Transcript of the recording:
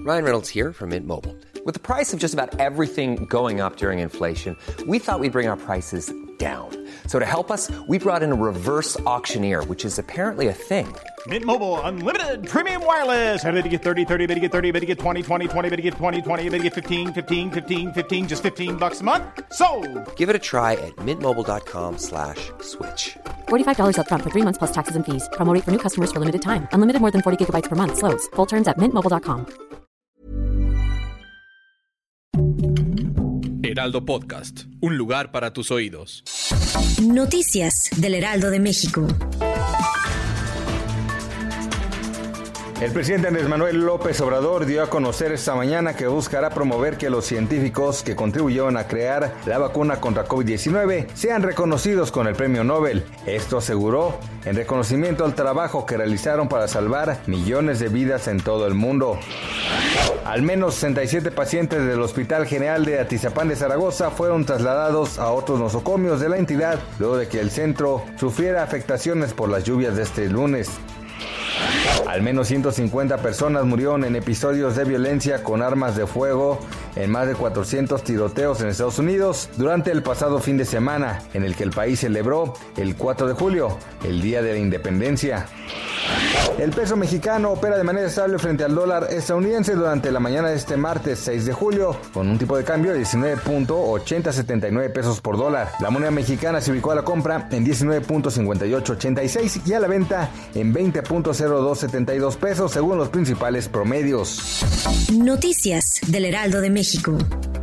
Ryan Reynolds here from Mint Mobile. With the price of just about everything going up during inflation, we thought we'd bring our prices down. So to help us, we brought in a reverse auctioneer, which is apparently a thing. Mint Mobile Unlimited Premium Wireless. How to get 30, 30, bit to get 30, bit to get 20, 20, 20, bit to get 20, 20, bit to get 15, 15, 15, 15, just $15 a month? Sold! Give it a try at mintmobile.com/switch. $45 up front for 3 months plus taxes and fees. Promo rate for new customers for limited time. Unlimited more than 40 gigabytes per month. Slows full terms at mintmobile.com. Heraldo Podcast, un lugar para tus oídos. Noticias del Heraldo de México. El presidente Andrés Manuel López Obrador dio a conocer esta mañana que buscará promover que los científicos que contribuyeron a crear la vacuna contra COVID-19 sean reconocidos con el premio Nobel. Esto aseguró en reconocimiento al trabajo que realizaron para salvar millones de vidas en todo el mundo. Al menos 67 pacientes del Hospital General de Atizapán de Zaragoza fueron trasladados a otros nosocomios de la entidad luego de que el centro sufriera afectaciones por las lluvias de este lunes. Al menos 150 personas murieron en episodios de violencia con armas de fuego en más de 400 tiroteos en Estados Unidos durante el pasado fin de semana, en el que el país celebró el 4 de julio, el Día de la Independencia. El peso mexicano opera de manera estable frente al dólar estadounidense durante la mañana de este martes 6 de julio, con un tipo de cambio de 19.8079 pesos por dólar. La moneda mexicana se ubicó a la compra en 19.5886 y a la venta en 20.0272 pesos según los principales promedios. Noticias del Heraldo de México.